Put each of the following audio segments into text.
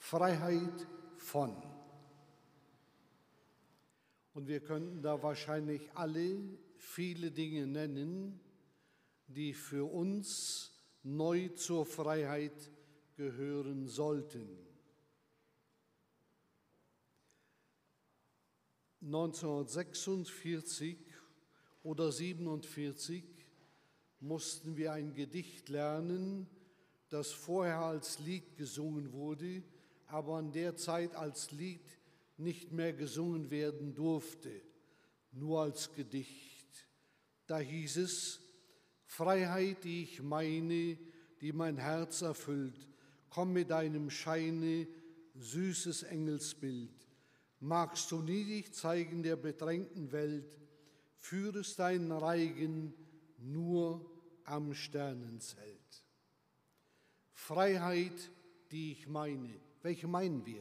Freiheit von. Und wir könnten da wahrscheinlich alle viele Dinge nennen, die für uns neu zur Freiheit gehören sollten. 1946 oder 1947 mussten wir ein Gedicht lernen, das vorher als Lied gesungen wurde, aber in der Zeit als Lied nicht mehr gesungen werden durfte, nur als Gedicht. Da hieß es: Freiheit, die ich meine, die mein Herz erfüllt, komm mit deinem Scheine, süßes Engelsbild. Magst du nie dich zeigen der bedrängten Welt, führest deinen Reigen nur am Sternenzelt. Freiheit, die ich meine. Welche meinen wir?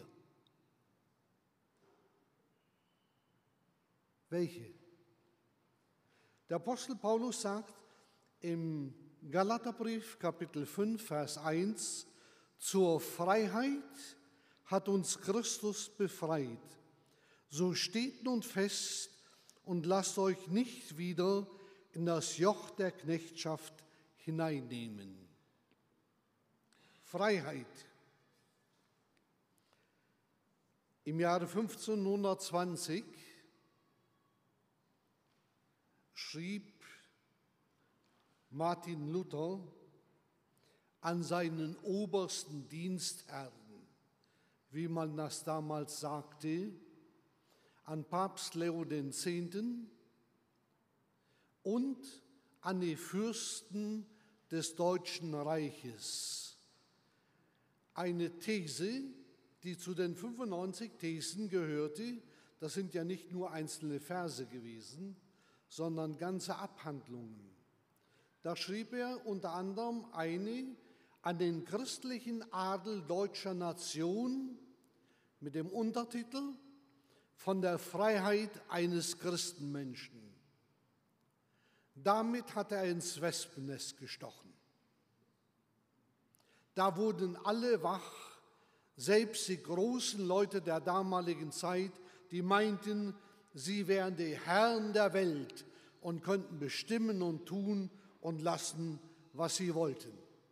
Welche? Der Apostel Paulus sagt im Galaterbrief Kapitel 5, Vers 1, zur Freiheit hat uns Christus befreit. So steht nun fest und lasst euch nicht wieder in das Joch der Knechtschaft hineinnehmen. Freiheit. Im Jahre 1520 schrieb Martin Luther an seinen obersten Dienstherrn, wie man das damals sagte, an Papst Leo X. und an die Fürsten des Deutschen Reiches. Eine These, die zu den 95 Thesen gehörte. Das sind ja nicht nur einzelne Verse gewesen, sondern ganze Abhandlungen. Da schrieb er unter anderem eine an den christlichen Adel deutscher Nation mit dem Untertitel Von der Freiheit eines Christenmenschen. Damit hat er ins Wespennest gestochen. Da wurden alle wach, selbst die großen Leute der damaligen Zeit, die meinten, sie wären die Herren der Welt und könnten bestimmen und tun und lassen, was sie wollten.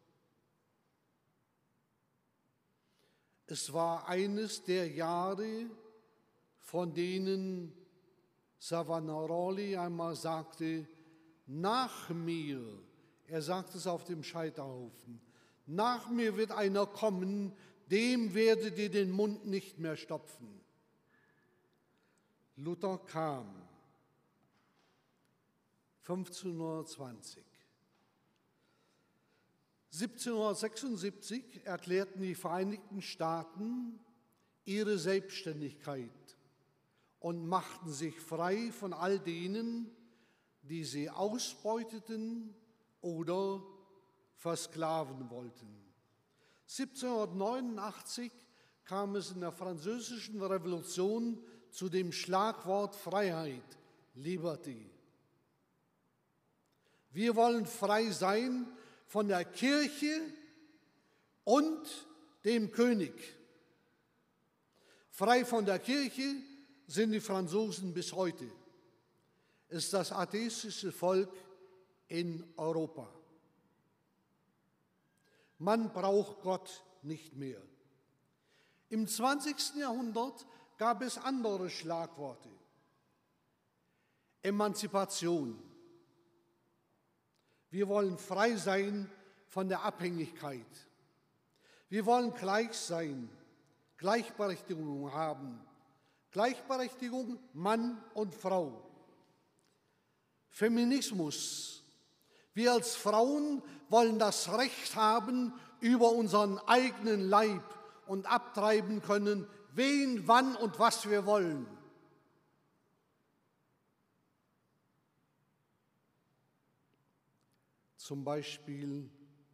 Es war eines der Jahre, von denen Savonarola einmal sagte, nach mir, er sagt es auf dem Scheiterhaufen, nach mir wird einer kommen, dem werdet ihr den Mund nicht mehr stopfen. Luther kam 1520. 1776 erklärten die Vereinigten Staaten ihre Selbstständigkeit und machten sich frei von all denen, die sie ausbeuteten oder versklaven wollten. 1789 kam es in der Französischen Revolution zu dem Schlagwort Freiheit, Liberty. Wir wollen frei sein von der Kirche und dem König. Frei von der Kirche sind die Franzosen bis heute. Es ist das atheistische Volk in Europa. Man braucht Gott nicht mehr. Im 20. Jahrhundert gab es andere Schlagworte. Emanzipation. Wir wollen frei sein von der Abhängigkeit. Wir wollen gleich sein, Gleichberechtigung haben. Gleichberechtigung Mann und Frau. Feminismus. Wir als Frauen wollen das Recht haben über unseren eigenen Leib und abtreiben können, wen, wann und was wir wollen. Zum Beispiel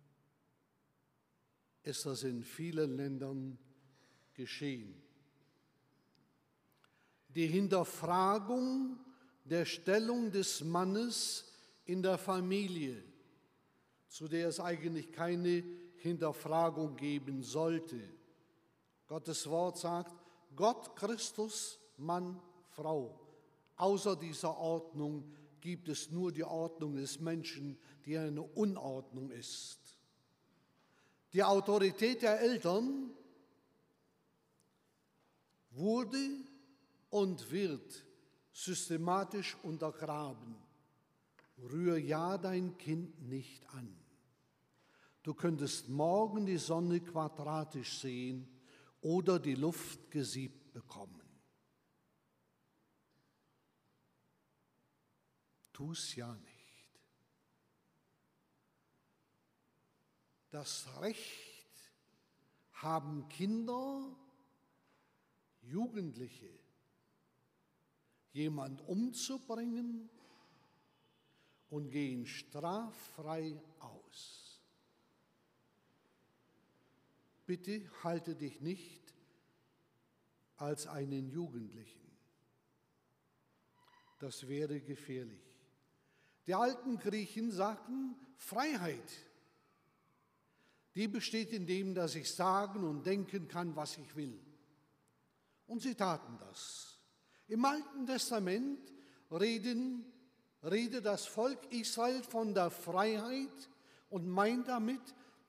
ist das in vielen Ländern geschehen. Die Hinterfragung der Stellung des Mannes in der Familie, zu der es eigentlich keine Hinterfragung geben sollte. Gottes Wort sagt, Gott, Christus, Mann, Frau. Außer dieser Ordnung gibt es nur die Ordnung des Menschen, die eine Unordnung ist. Die Autorität der Eltern wurde und wird systematisch untergraben. Rühr ja dein Kind nicht an. Du könntest morgen die Sonne quadratisch sehen oder die Luft gesiebt bekommen. Tu's ja nicht. Das Recht haben Kinder, Jugendliche, jemand umzubringen und gehen straffrei aus. Bitte halte dich nicht als einen Jugendlichen. Das wäre gefährlich. Die alten Griechen sagten, Freiheit, die besteht in dem, dass ich sagen und denken kann, was ich will. Und sie taten das. Im Alten Testament redet das Volk Israel von der Freiheit und meint damit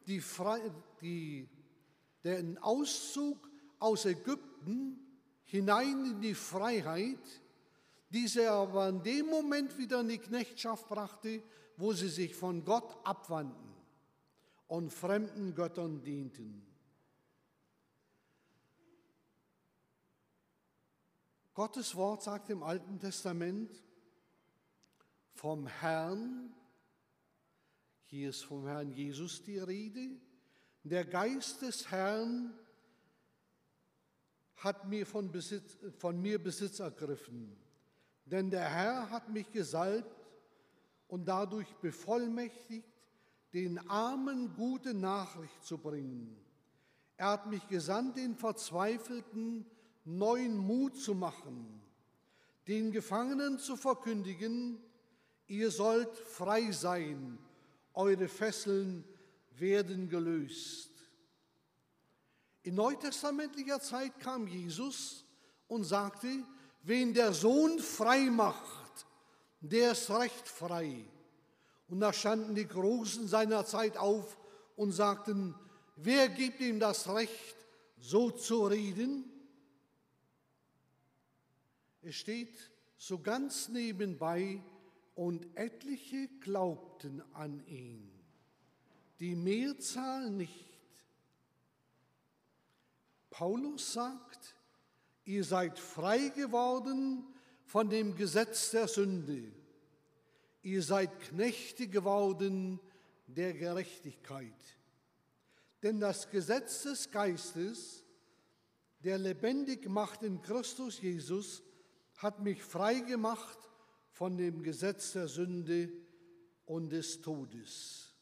den Auszug aus Ägypten hinein in die Freiheit, die sie aber in dem Moment wieder in die Knechtschaft brachte, wo sie sich von Gott abwandten und fremden Göttern dienten. Gottes Wort sagt im Alten Testament vom Herrn, hier ist vom Herrn Jesus die Rede, der Geist des Herrn hat von mir Besitz ergriffen. Denn der Herr hat mich gesalbt und dadurch bevollmächtigt, den Armen gute Nachricht zu bringen. Er hat mich gesandt, den Verzweifelten neuen Mut zu machen, den Gefangenen zu verkündigen, ihr sollt frei sein, eure Fesseln werden gelöst. In neutestamentlicher Zeit kam Jesus und sagte, wen der Sohn frei macht, der ist recht frei. Und da standen die Großen seiner Zeit auf und sagten, wer gibt ihm das Recht, so zu reden? Es steht so ganz nebenbei, und etliche glaubten an ihn, die Mehrzahl nicht. Paulus sagt, ihr seid frei geworden von dem Gesetz der Sünde. Ihr seid Knechte geworden der Gerechtigkeit. Denn das Gesetz des Geistes, der lebendig macht in Christus Jesus, hat mich frei gemacht von dem Gesetz der Sünde und des Todes.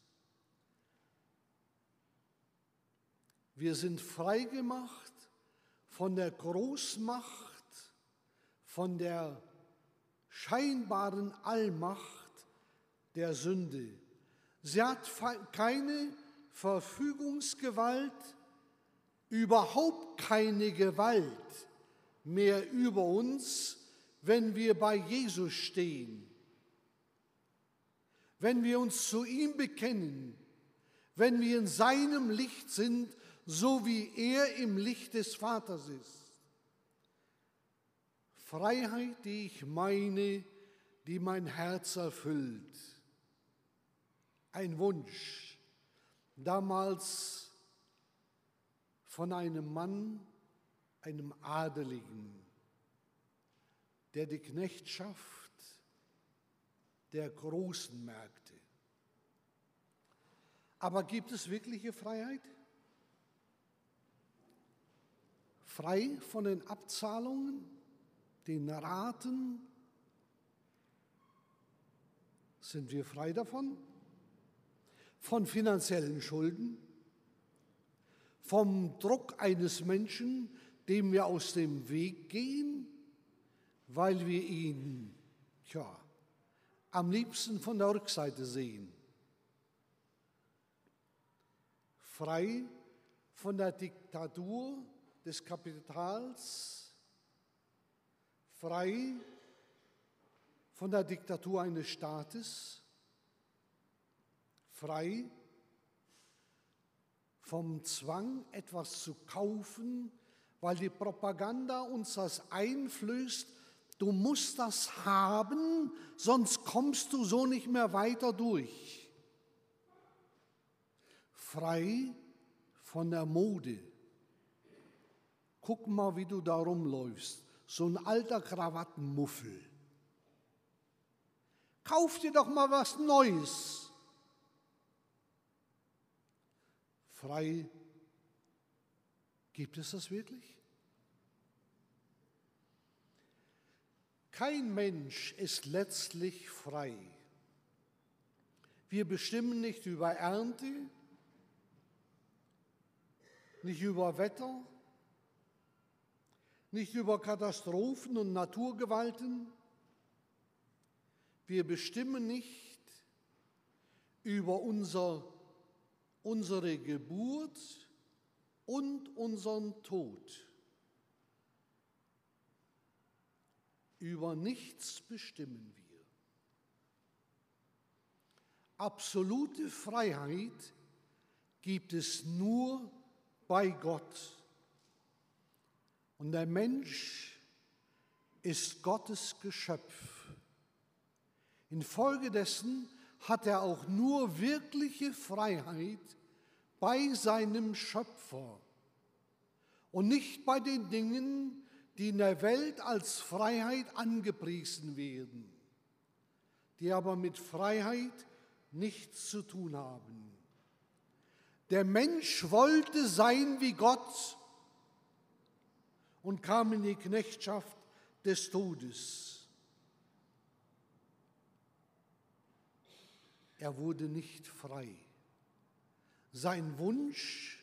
Wir sind frei gemacht von der Großmacht, von der scheinbaren Allmacht der Sünde. Sie hat keine Verfügungsgewalt, überhaupt keine Gewalt mehr über uns, wenn wir bei Jesus stehen, wenn wir uns zu ihm bekennen, wenn wir in seinem Licht sind, so wie er im Licht des Vaters ist. Freiheit, die ich meine, die mein Herz erfüllt. Ein Wunsch, damals von einem Mann, einem Adeligen, der die Knechtschaft der Großen merkte. Aber gibt es wirkliche Freiheit? Frei von den Abzahlungen, den Raten? Sind wir frei davon? Von finanziellen Schulden? Vom Druck eines Menschen, dem wir aus dem Weg gehen, weil wir ihn, am liebsten von der Rückseite sehen. Frei von der Diktatur des Kapitals, frei von der Diktatur eines Staates, frei vom Zwang, etwas zu kaufen, weil die Propaganda uns das einflößt, du musst das haben, sonst kommst du so nicht mehr weiter durch. Frei von der Mode. Guck mal, wie du da rumläufst, so ein alter Krawattenmuffel. Kauf dir doch mal was Neues. Frei, gibt es das wirklich? Kein Mensch ist letztlich frei. Wir bestimmen nicht über Ernte, nicht über Wetter, nicht über Katastrophen und Naturgewalten. Wir bestimmen nicht über unsere Geburt und unseren Tod. Über nichts bestimmen wir. Absolute Freiheit gibt es nur bei Gott. Und der Mensch ist Gottes Geschöpf. Infolgedessen hat er auch nur wirkliche Freiheit bei seinem Schöpfer und nicht bei den Dingen, die in der Welt als Freiheit angepriesen werden, die aber mit Freiheit nichts zu tun haben. Der Mensch wollte sein wie Gott und kam in die Knechtschaft des Todes. Er wurde nicht frei. Sein Wunsch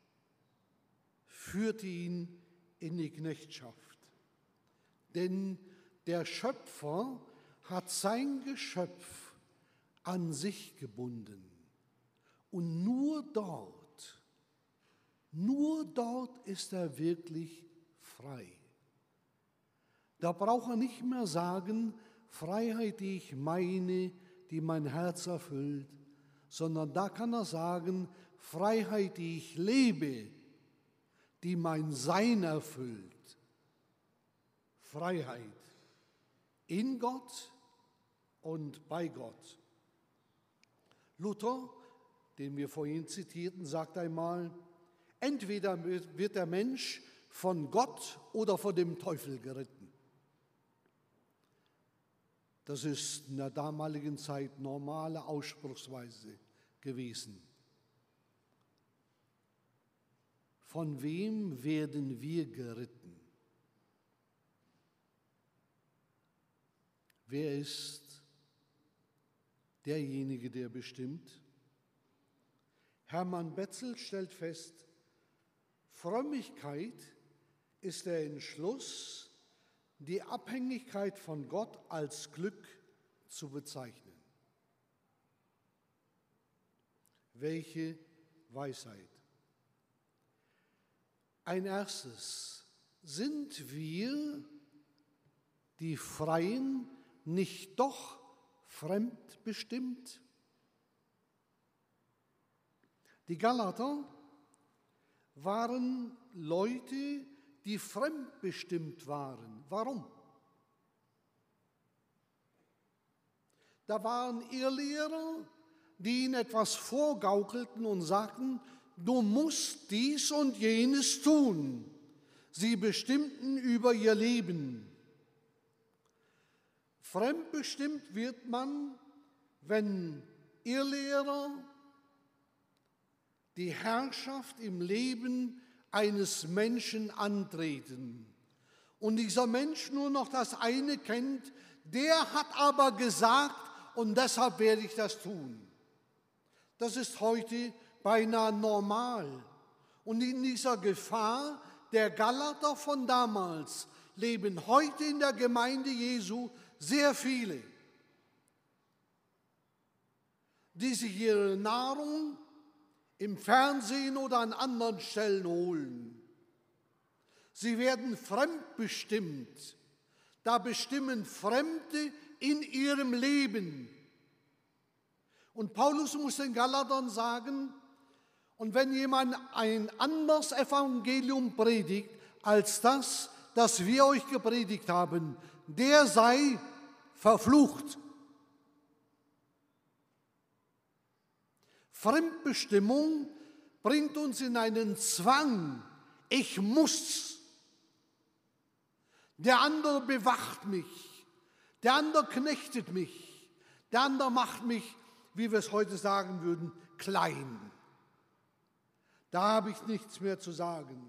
führte ihn in die Knechtschaft. Denn der Schöpfer hat sein Geschöpf an sich gebunden. Und nur dort ist er wirklich frei. Da braucht er nicht mehr sagen, Freiheit, die ich meine, die mein Herz erfüllt, sondern da kann er sagen, Freiheit, die ich lebe, die mein Sein erfüllt. Freiheit in Gott und bei Gott. Luther, den wir vorhin zitierten, sagt einmal, entweder wird der Mensch von Gott oder von dem Teufel geritten. Das ist in der damaligen Zeit normale Ausspruchsweise gewesen. Von wem werden wir geritten? Wer ist derjenige, der bestimmt? Hermann Betzel stellt fest, Frömmigkeit ist der Entschluss, die Abhängigkeit von Gott als Glück zu bezeichnen. Welche Weisheit! Ein erstes, sind wir, die Freien, nicht doch fremdbestimmt? Die Galater waren Leute, die fremdbestimmt waren. Warum? Da waren Irrlehrer, die ihnen etwas vorgaukelten und sagten, du musst dies und jenes tun. Sie bestimmten über ihr Leben. Fremdbestimmt wird man, wenn Irrlehrer die Herrschaft im Leben eines Menschen antreten und dieser Mensch nur noch das eine kennt, der hat aber gesagt und deshalb werde ich das tun. Das ist heute beinahe normal. Und in dieser Gefahr der Galater von damals leben heute in der Gemeinde Jesu sehr viele, die sich ihre Nahrung im Fernsehen oder an anderen Stellen holen. Sie werden fremdbestimmt. Da bestimmen Fremde in ihrem Leben. Und Paulus muss den Galatern sagen, und wenn jemand ein anderes Evangelium predigt als das wir euch gepredigt haben, der sei verflucht. Fremdbestimmung bringt uns in einen Zwang. Ich muss. Der andere bewacht mich. Der andere knechtet mich. Der andere macht mich, wie wir es heute sagen würden, klein. Da habe ich nichts mehr zu sagen.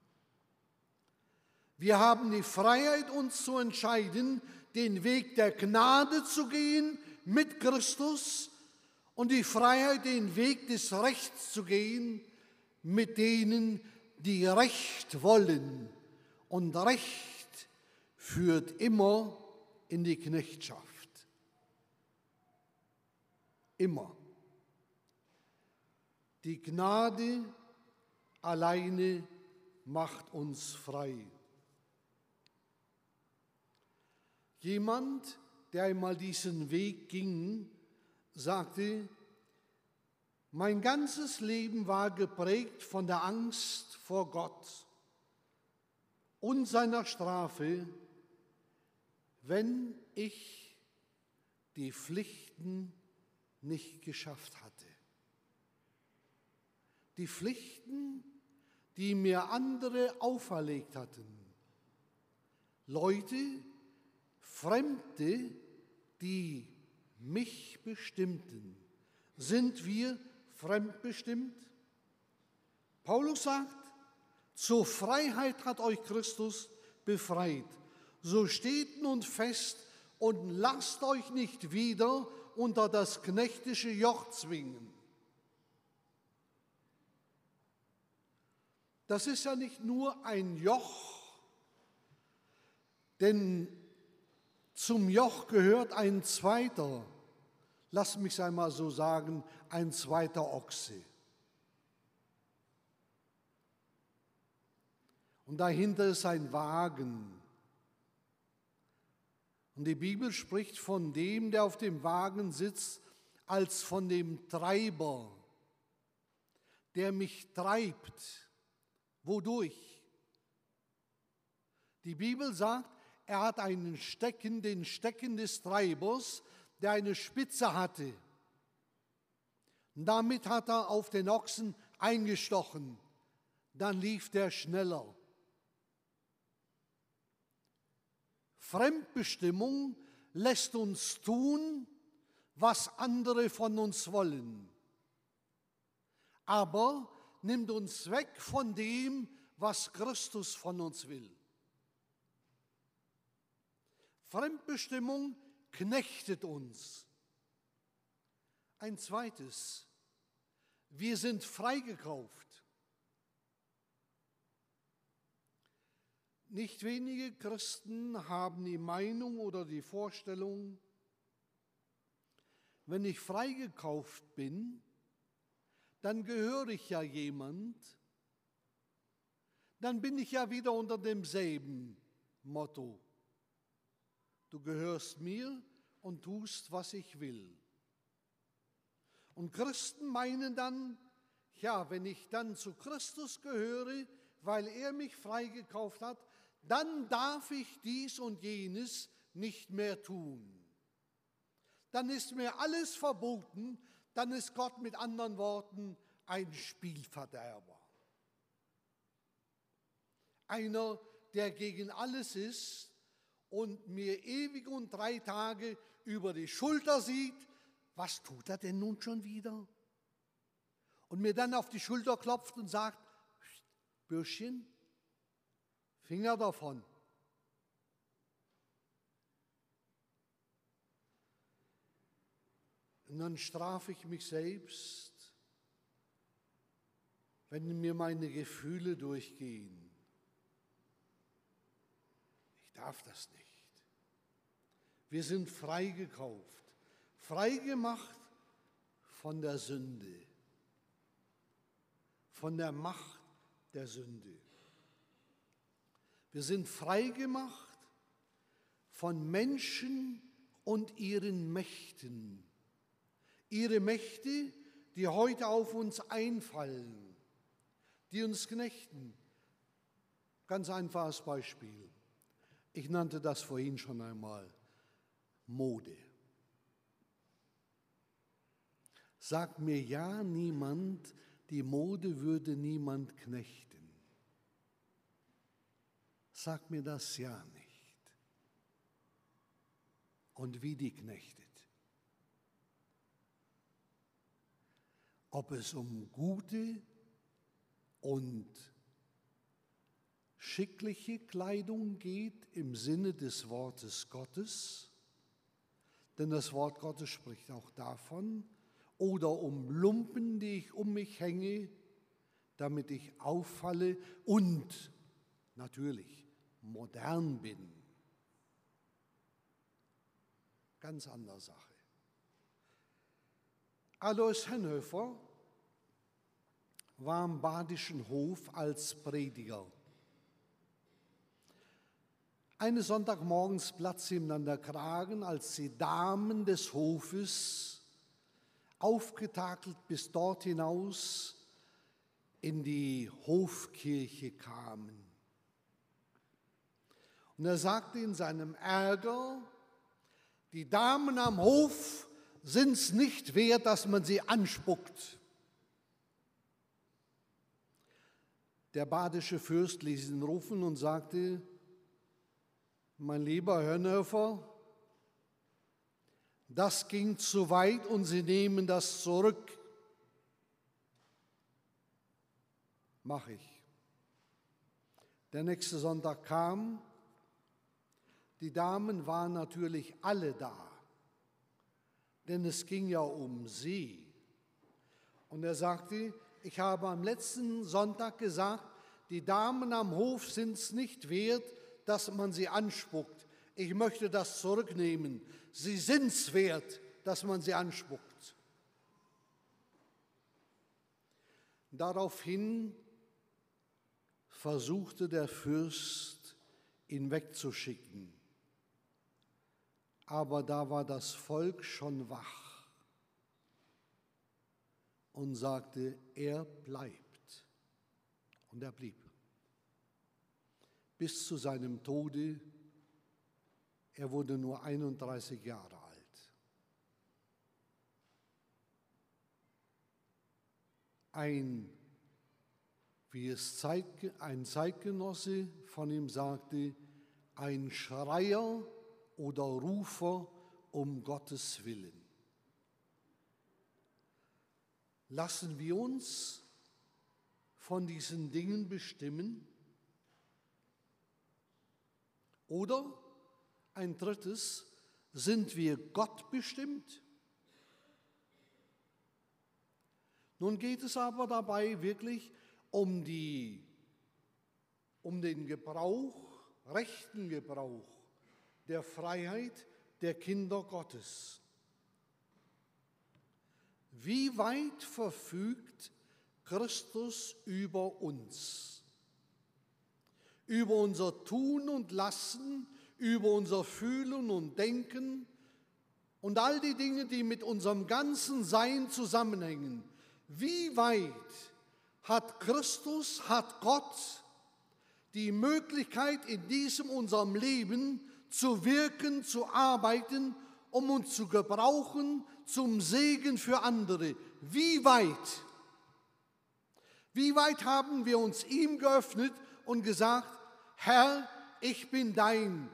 Wir haben die Freiheit, uns zu entscheiden, den Weg der Gnade zu gehen mit Christus und die Freiheit, den Weg des Rechts zu gehen mit denen, die Recht wollen. Und Recht führt immer in die Knechtschaft. Immer. Die Gnade alleine macht uns frei. Jemand, der einmal diesen Weg ging, sagte, mein ganzes Leben war geprägt von der Angst vor Gott und seiner Strafe, wenn ich die Pflichten nicht geschafft hatte. Die Pflichten, die mir andere auferlegt hatten. Leute, Fremde, die mich bestimmten. Sind wir fremdbestimmt? Paulus sagt, zur Freiheit hat euch Christus befreit. So steht nun fest und lasst euch nicht wieder unter das knechtische Joch zwingen. Das ist ja nicht nur ein Joch, denn zum Joch gehört ein zweiter, lass mich es einmal so sagen, ein zweiter Ochse. Und dahinter ist ein Wagen. Und die Bibel spricht von dem, der auf dem Wagen sitzt, als von dem Treiber, der mich treibt. Wodurch? Die Bibel sagt, er hat einen Stecken, den Stecken des Treibers, der eine Spitze hatte. Und damit hat er auf den Ochsen eingestochen. Dann lief der schneller. Fremdbestimmung lässt uns tun, was andere von uns wollen, aber nimmt uns weg von dem, was Christus von uns will. Fremdbestimmung knechtet uns. Ein zweites, wir sind freigekauft. Nicht wenige Christen haben die Meinung oder die Vorstellung, wenn ich freigekauft bin, dann gehöre ich ja jemand, dann bin ich ja wieder unter demselben Motto. Du gehörst mir und tust, was ich will. Und Christen meinen dann, ja, wenn ich dann zu Christus gehöre, weil er mich freigekauft hat, dann darf ich dies und jenes nicht mehr tun. Dann ist mir alles verboten, dann ist Gott mit anderen Worten ein Spielverderber. Einer, der gegen alles ist und mir ewig und 3 Tage über die Schulter sieht, was tut er denn nun schon wieder? Und mir dann auf die Schulter klopft und sagt, Bürschchen, Finger davon. Und dann strafe ich mich selbst, wenn mir meine Gefühle durchgehen. Ich darf das nicht. Wir sind freigekauft, freigemacht von der Sünde, von der Macht der Sünde. Wir sind frei gemacht von Menschen und ihren Mächten. Ihre Mächte, die heute auf uns einfallen, die uns knechten. Ganz einfaches Beispiel. Ich nannte das vorhin schon einmal Mode. Sagt mir ja niemand, die Mode würde niemand knechten. Sagt mir das ja nicht. Und wie die knechtet. Ob es um gute und schickliche Kleidung geht im Sinne des Wortes Gottes, denn das Wort Gottes spricht auch davon, oder um Lumpen, die ich um mich hänge, damit ich auffalle und natürlich modern bin. Ganz andere Sache. Alois Hennhofer war am Badischen Hof als Prediger. Eines Sonntagmorgens platzte ihm dann der Kragen, als die Damen des Hofes aufgetakelt bis dort hinaus in die Hofkirche kamen. Und er sagte in seinem Ärger, die Damen am Hof sind es nicht wert, dass man sie anspuckt. Der badische Fürst ließ ihn rufen und sagte, mein lieber Hennhofer, das ging zu weit und Sie nehmen das zurück. Mach ich. Der nächste Sonntag kam, die Damen waren natürlich alle da, denn es ging ja um sie. Und er sagte, ich habe am letzten Sonntag gesagt, die Damen am Hof sind es nicht wert, dass man sie anspuckt. Ich möchte das zurücknehmen. Sie sind es wert, dass man sie anspuckt. Daraufhin versuchte der Fürst, ihn wegzuschicken. Aber da war das Volk schon wach und sagte, er bleibt. Und er blieb. Bis zu seinem Tode. Er wurde nur 31 Jahre alt. Ein Zeitgenosse von ihm sagte, ein Schreier oder Rufer um Gottes Willen. Lassen wir uns von diesen Dingen bestimmen? Oder ein drittes, sind wir Gott bestimmt? Nun geht es aber dabei wirklich um den Gebrauch, rechten Gebrauch der Freiheit der Kinder Gottes. Wie weit verfügt Christus über uns? Über unser Tun und Lassen, über unser Fühlen und Denken und all die Dinge, die mit unserem ganzen Sein zusammenhängen. Wie weit hat Christus, hat Gott die Möglichkeit, in diesem unserem Leben zu wirken, zu arbeiten, um uns zu gebrauchen zum Segen für andere? Wie weit? Wie weit haben wir uns ihm geöffnet und gesagt, Herr, ich bin dein?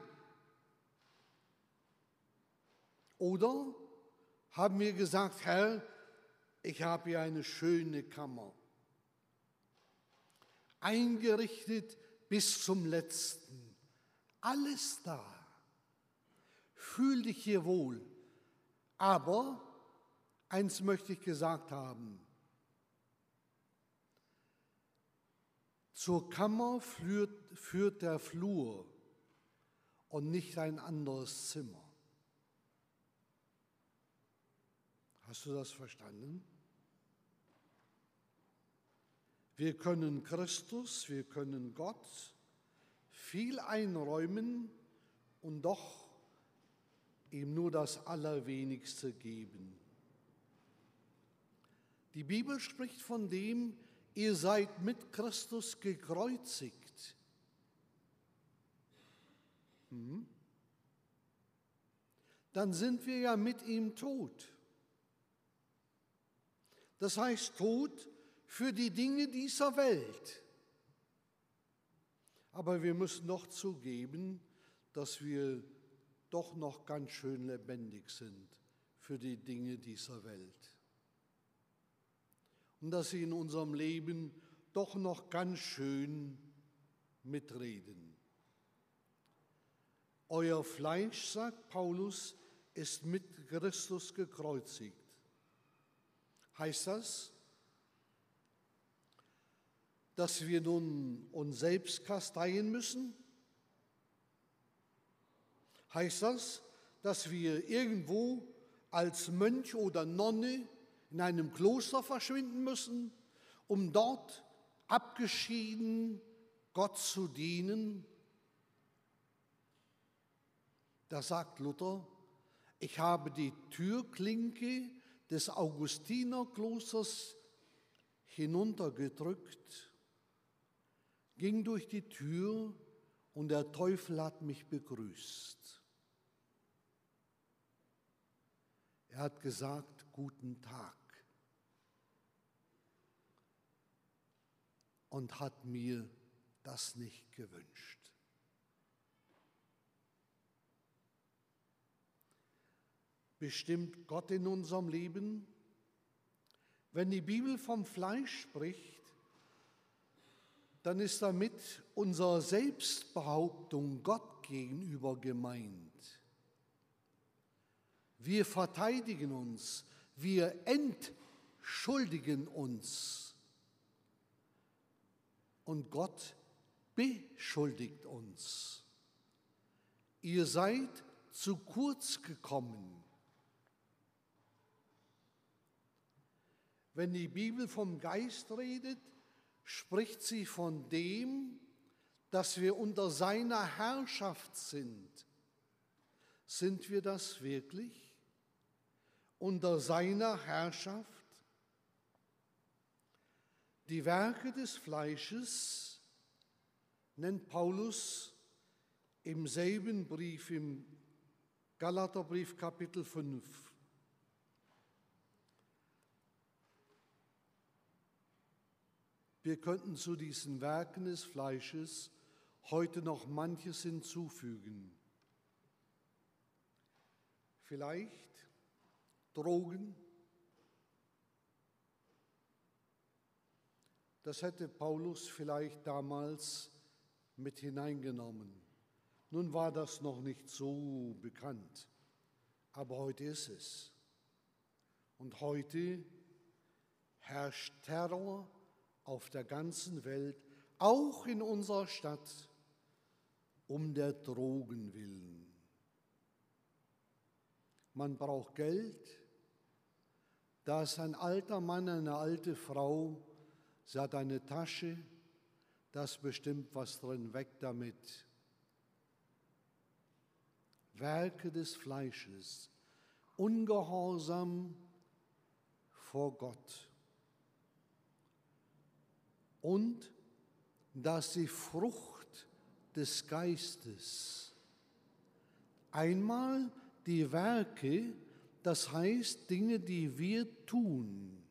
Oder haben wir gesagt, Herr, ich habe hier eine schöne Kammer, eingerichtet bis zum Letzten, alles da, fühl dich hier wohl. Aber eins möchte ich gesagt haben, zur Kammer führt der Flur und nicht ein anderes Zimmer. Hast du das verstanden? Wir können Christus, wir können Gott viel einräumen und doch ihm nur das Allerwenigste geben. Die Bibel spricht von dem, ihr seid mit Christus gekreuzigt. Dann sind wir ja mit ihm tot. Das heißt tot für die Dinge dieser Welt. Aber wir müssen doch zugeben, dass wir doch noch ganz schön lebendig sind für die Dinge dieser Welt. Und dass sie in unserem Leben doch noch ganz schön mitreden. Euer Fleisch, sagt Paulus, ist mit Christus gekreuzigt. Heißt das, dass wir nun uns selbst kasteien müssen? Heißt das, dass wir irgendwo als Mönch oder Nonne in einem Kloster verschwinden müssen, um dort abgeschieden Gott zu dienen? Da sagt Luther, ich habe die Türklinke des Augustinerklosters hinuntergedrückt, ging durch die Tür und der Teufel hat mich begrüßt. Er hat gesagt, guten Tag, und hat mir das nicht gewünscht. Bestimmt Gott in unserem Leben? Wenn die Bibel vom Fleisch spricht, dann ist damit unsere Selbstbehauptung Gott gegenüber gemeint. Wir verteidigen uns, wir entschuldigen uns und Gott beschuldigt uns. Ihr seid zu kurz gekommen. Wenn die Bibel vom Geist redet, spricht sie von dem, dass wir unter seiner Herrschaft sind. Sind wir das wirklich? Unter seiner Herrschaft? Die Werke des Fleisches nennt Paulus im selben Brief, im Galaterbrief Kapitel 5. Wir könnten zu diesen Werken des Fleisches heute noch manches hinzufügen. Vielleicht Drogen. Das hätte Paulus vielleicht damals mit hineingenommen. Nun war das noch nicht so bekannt, aber heute ist es. Und heute herrscht Terror auf der ganzen Welt, auch in unserer Stadt, um der Drogen willen. Man braucht Geld, da ist ein alter Mann, eine alte Frau, sie hat eine Tasche, da ist bestimmt was drin, weg damit. Werke des Fleisches, Ungehorsam vor Gott. Und dass die Frucht des Geistes einmal die Werke, das heißt Dinge, die wir tun.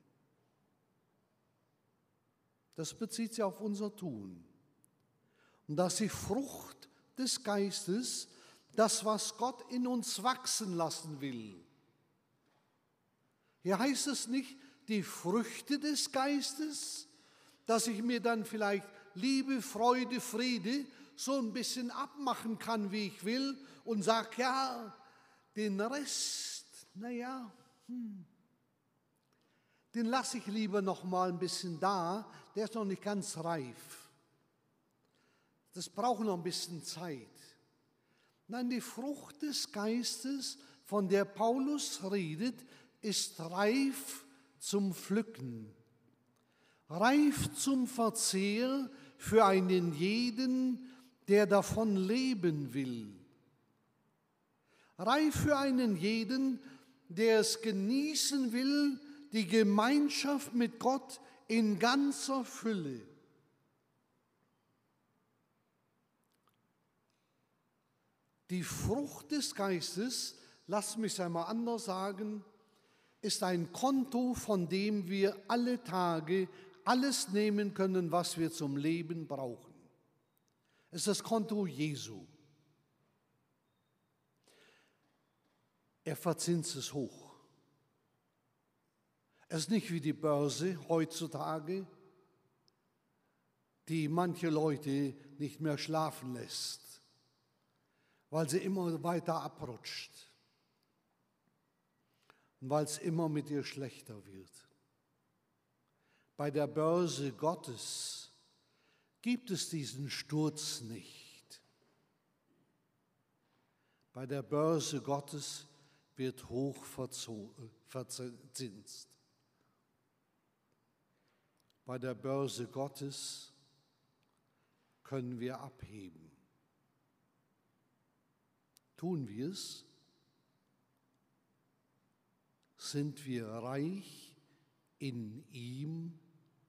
Das bezieht sich auf unser Tun. Und dass die Frucht des Geistes, das, was Gott in uns wachsen lassen will. Hier heißt es nicht die Früchte des Geistes, dass ich mir dann vielleicht Liebe, Freude, Friede so ein bisschen abmachen kann, wie ich will und sage, ja, den Rest, den lasse ich lieber noch mal ein bisschen da, der ist noch nicht ganz reif. Das braucht noch ein bisschen Zeit. Nein, die Frucht des Geistes, von der Paulus redet, ist reif zum Pflücken. Reif zum Verzehr für einen jeden, der davon leben will. Reif für einen jeden, der es genießen will, die Gemeinschaft mit Gott in ganzer Fülle. Die Frucht des Geistes, lass mich einmal anders sagen, ist ein Konto, von dem wir alle Tage alles nehmen können, was wir zum Leben brauchen. Es ist das Konto Jesu. Er verzinst es hoch. Es ist nicht wie die Börse heutzutage, die manche Leute nicht mehr schlafen lässt, weil sie immer weiter abrutscht und weil es immer mit ihr schlechter wird. Bei der Börse Gottes gibt es diesen Sturz nicht. Bei der Börse Gottes wird hoch verzinst. Bei der Börse Gottes können wir abheben. Tun wir es? Sind wir reich in ihm?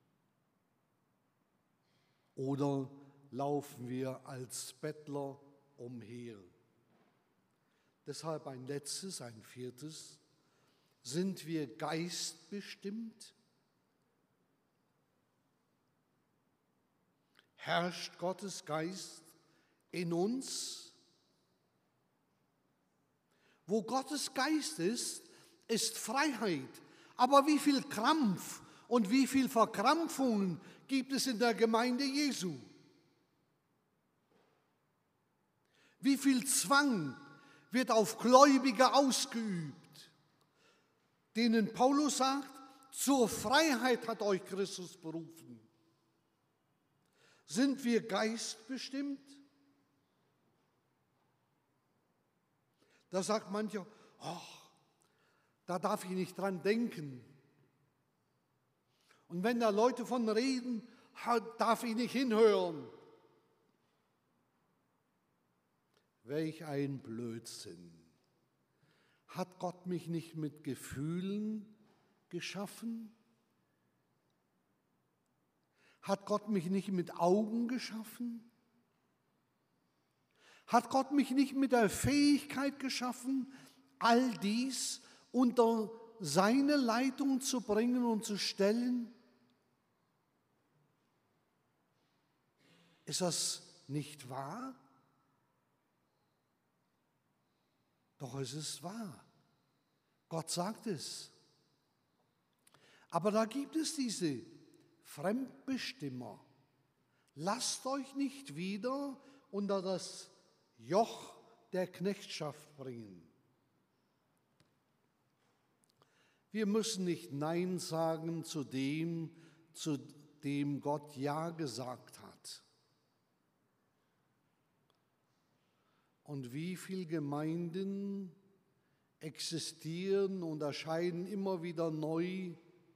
Oder laufen wir als Bettler umher? Deshalb ein letztes, ein viertes. Sind wir geistbestimmt? Herrscht Gottes Geist in uns? Wo Gottes Geist ist, ist Freiheit. Aber wie viel Krampf und wie viel Verkrampfungen gibt es in der Gemeinde Jesu? Wie viel Zwang wird auf Gläubige ausgeübt, denen Paulus sagt, zur Freiheit hat euch Christus berufen. Sind wir geistbestimmt? Da sagt mancher, da darf ich nicht dran denken. Und wenn da Leute von reden, darf ich nicht hinhören. Welch ein Blödsinn. Hat Gott mich nicht mit Gefühlen geschaffen? Hat Gott mich nicht mit Augen geschaffen? Hat Gott mich nicht mit der Fähigkeit geschaffen, all dies unter seine Leitung zu bringen und zu stellen? Ist das nicht wahr? Doch es ist wahr. Gott sagt es. Aber da gibt es diese Fremdbestimmer. Lasst euch nicht wieder unter das Joch der Knechtschaft bringen. Wir müssen nicht Nein sagen zu dem Gott Ja gesagt hat. Und wie viele Gemeinden existieren und erscheinen immer wieder neu.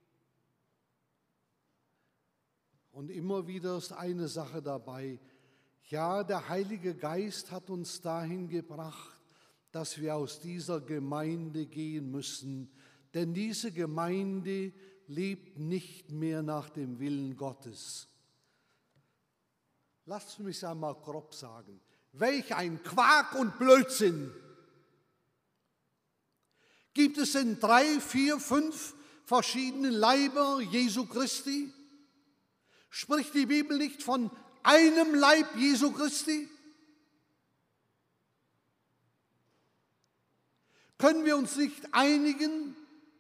Und immer wieder ist eine Sache dabei. Ja, der Heilige Geist hat uns dahin gebracht, dass wir aus dieser Gemeinde gehen müssen. Denn diese Gemeinde lebt nicht mehr nach dem Willen Gottes. Lasst mich einmal grob sagen. Welch ein Quark und Blödsinn! Gibt es denn 3, 4, 5 verschiedene Leiber Jesu Christi? Spricht die Bibel nicht von einem Leib Jesu Christi? Können wir uns nicht einigen?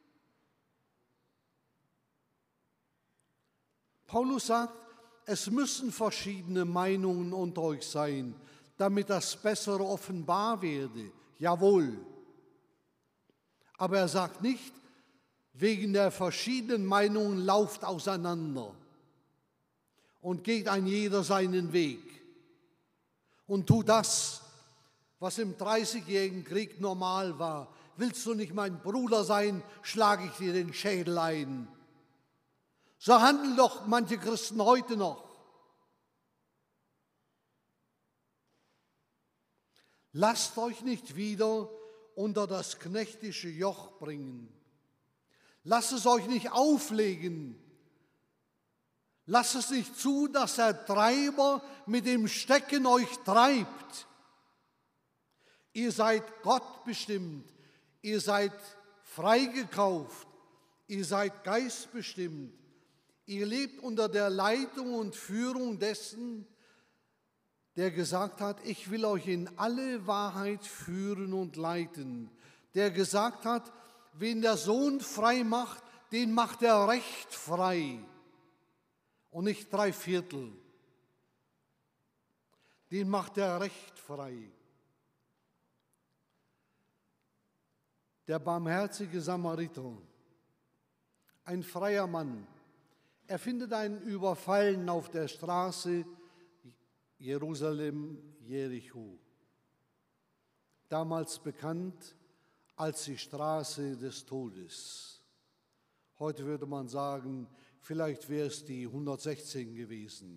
Paulus sagt, es müssen verschiedene Meinungen unter euch sein, damit das Bessere offenbar werde. Jawohl. Aber er sagt nicht, wegen der verschiedenen Meinungen lauft auseinander und geht ein jeder seinen Weg und tut das, was im 30-jährigen Krieg normal war. Willst du nicht mein Bruder sein, schlage ich dir den Schädel ein. So handeln doch manche Christen heute noch. Lasst euch nicht wieder unter das knechtische Joch bringen. Lasst es euch nicht auflegen. Lasst es nicht zu, dass der Treiber mit dem Stecken euch treibt. Ihr seid Gott bestimmt. Ihr seid freigekauft. Ihr seid geistbestimmt. Ihr lebt unter der Leitung und Führung dessen, der gesagt hat, ich will euch in alle Wahrheit führen und leiten. Der gesagt hat, wen der Sohn frei macht, den macht er recht frei. Und nicht 3/4. Den macht er recht frei. Der barmherzige Samariter, ein freier Mann, er findet einen Überfallenen auf der Straße Jerusalem-Jericho, damals bekannt als die Straße des Todes. Heute würde man sagen, vielleicht wäre es die 116 gewesen.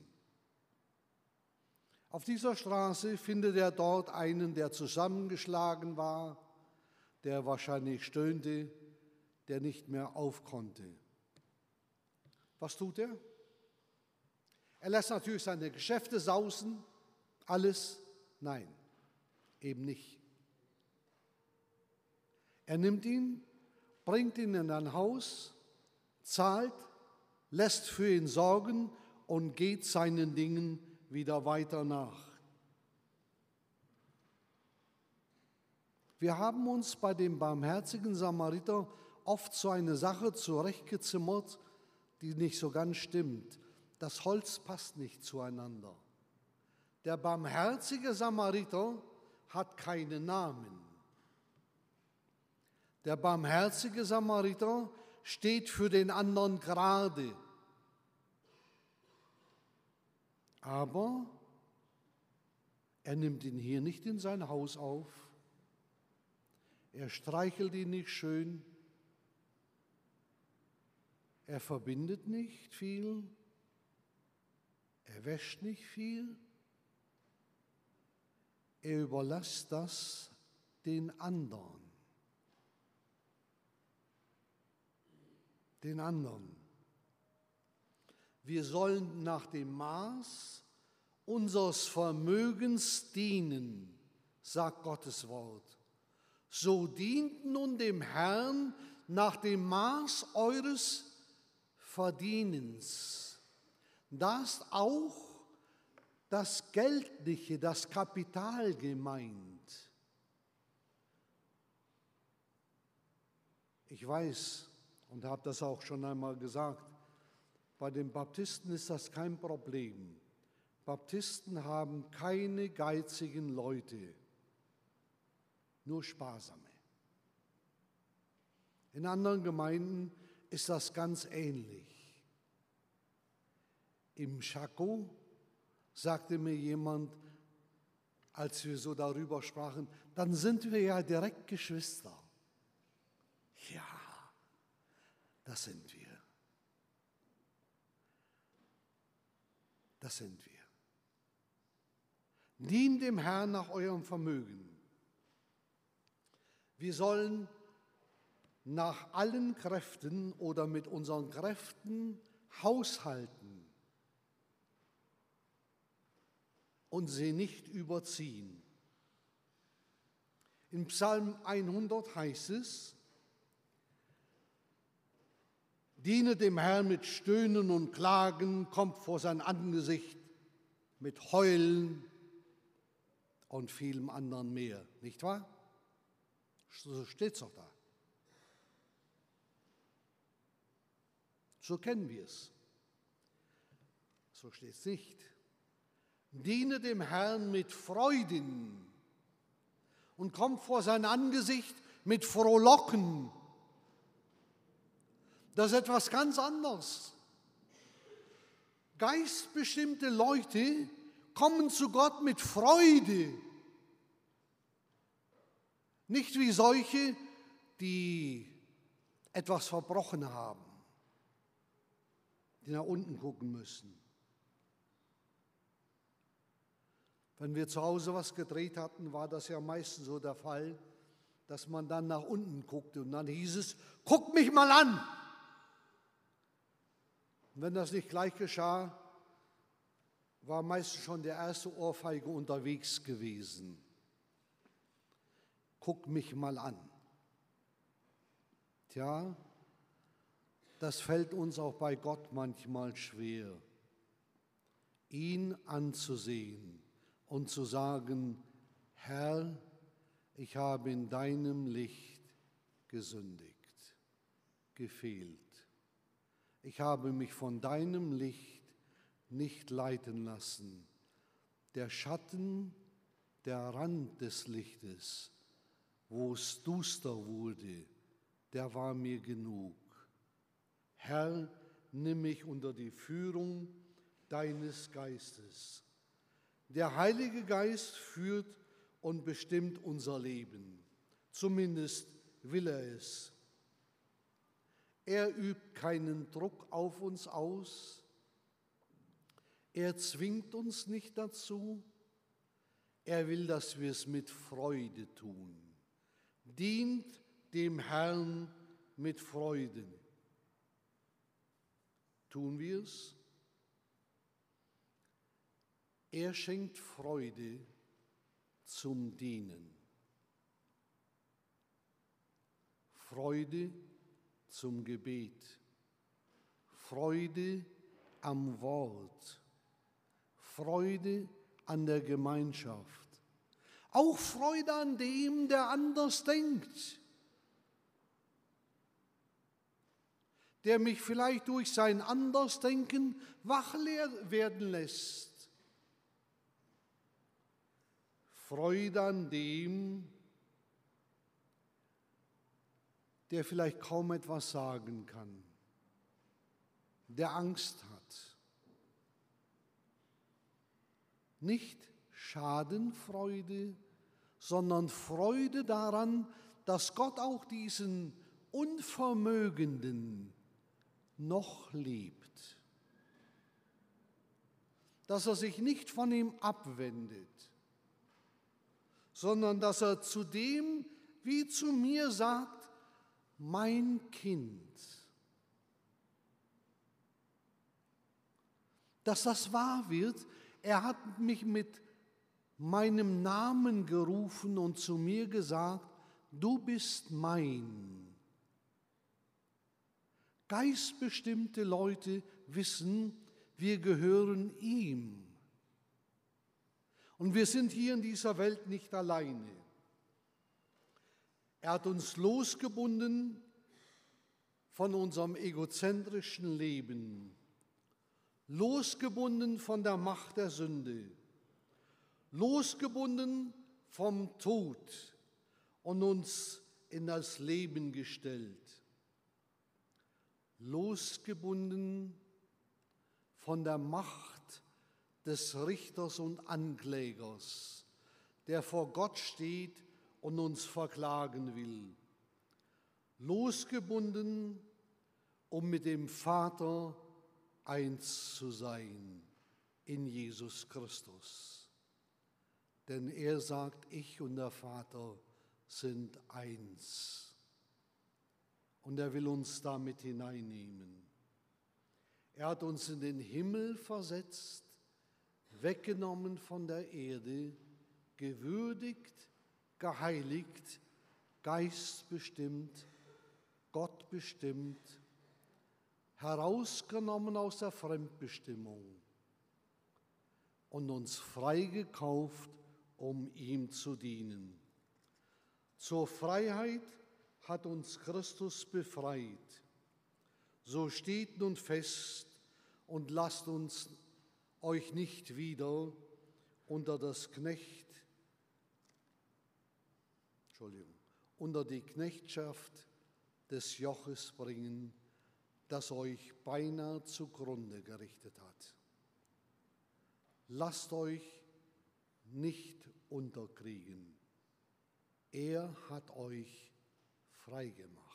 Auf dieser Straße findet er dort einen, der zusammengeschlagen war, der wahrscheinlich stöhnte, der nicht mehr auf konnte. Was tut er? Er lässt natürlich seine Geschäfte sausen, alles. Nein, eben nicht. Er nimmt ihn, bringt ihn in ein Haus, zahlt, lässt für ihn sorgen und geht seinen Dingen wieder weiter nach. Wir haben uns bei dem barmherzigen Samariter oft so eine Sache zurechtgezimmert, die nicht so ganz stimmt. Das Holz passt nicht zueinander. Der barmherzige Samariter hat keinen Namen. Der barmherzige Samariter steht für den anderen gerade. Aber er nimmt ihn hier nicht in sein Haus auf. Er streichelt ihn nicht schön. Er verbindet nicht viel. Er wäscht nicht viel. Er überlässt das den anderen. Den anderen. Wir sollen nach dem Maß unseres Vermögens dienen, sagt Gottes Wort. So dient nun dem Herrn nach dem Maß eures Verdienens. Da ist auch das Geldliche, das Kapital gemeint. Ich weiß und habe das auch schon einmal gesagt, bei den Baptisten ist das kein Problem. Baptisten haben keine geizigen Leute, nur sparsame. In anderen Gemeinden ist das ganz ähnlich. Im Chaco sagte mir jemand, als wir so darüber sprachen, dann sind wir ja direkt Geschwister. Ja, das sind wir. Das sind wir. Dient dem Herrn nach eurem Vermögen. Wir sollen nach allen Kräften oder mit unseren Kräften haushalten und sie nicht überziehen. In Psalm 100 heißt es, diene dem Herrn mit Stöhnen und Klagen, kommt vor sein Angesicht mit Heulen und vielem anderen mehr. Nicht wahr? So steht es doch da. So kennen wir es. So steht es nicht. Diene dem Herrn mit Freuden und kommt vor sein Angesicht mit Frohlocken. Das ist etwas ganz anderes. Geistbestimmte Leute kommen zu Gott mit Freude. Nicht wie solche, die etwas verbrochen haben, die nach unten gucken müssen. Wenn wir zu Hause was gedreht hatten, war das ja meistens so der Fall, dass man dann nach unten guckte und dann hieß es, guck mich mal an. Und wenn das nicht gleich geschah, war meistens schon der erste Ohrfeige unterwegs gewesen. Guck mich mal an. Tja, das fällt uns auch bei Gott manchmal schwer, ihn anzusehen und zu sagen, Herr, ich habe in deinem Licht gesündigt, gefehlt. Ich habe mich von deinem Licht nicht leiten lassen. Der Schatten, der Rand des Lichtes, wo es duster wurde, der war mir genug. Herr, nimm mich unter die Führung deines Geistes. Der Heilige Geist führt und bestimmt unser Leben. Zumindest will er es. Er übt keinen Druck auf uns aus. Er zwingt uns nicht dazu. Er will, dass wir es mit Freude tun. Dient dem Herrn mit Freude. Tun wir es? Er schenkt Freude zum Dienen. Freude zum Gebet. Freude am Wort. Freude an der Gemeinschaft. Auch Freude an dem, der anders denkt. Der mich vielleicht durch sein Andersdenken wach werden lässt. Freude an dem, der vielleicht kaum etwas sagen kann, der Angst hat. Nicht Schadenfreude, sondern Freude daran, dass Gott auch diesen Unvermögenden noch liebt. Dass er sich nicht von ihm abwendet, sondern dass er zu dem wie zu mir sagt, mein Kind. Dass das wahr wird, er hat mich mit meinem Namen gerufen und zu mir gesagt, du bist mein. Geistbestimmte Leute wissen, wir gehören ihm. Und wir sind hier in dieser Welt nicht alleine. Er hat uns losgebunden von unserem egozentrischen Leben, losgebunden von der Macht der Sünde, losgebunden vom Tod und uns in das Leben gestellt, losgebunden von der Macht des Richters und Anklägers, der vor Gott steht und uns verklagen will. Losgebunden, um mit dem Vater eins zu sein in Jesus Christus. Denn er sagt, ich und der Vater sind eins. Und er will uns damit hineinnehmen. Er hat uns in den Himmel versetzt, weggenommen von der Erde, gewürdigt, geheiligt, geistbestimmt, gottbestimmt, herausgenommen aus der Fremdbestimmung und uns freigekauft, um ihm zu dienen. Zur Freiheit hat uns Christus befreit. So steht nun fest und lasst uns euch nicht wieder unter die Knechtschaft des Joches bringen, das euch beinahe zugrunde gerichtet hat. Lasst euch nicht unterkriegen. Er hat euch frei gemacht.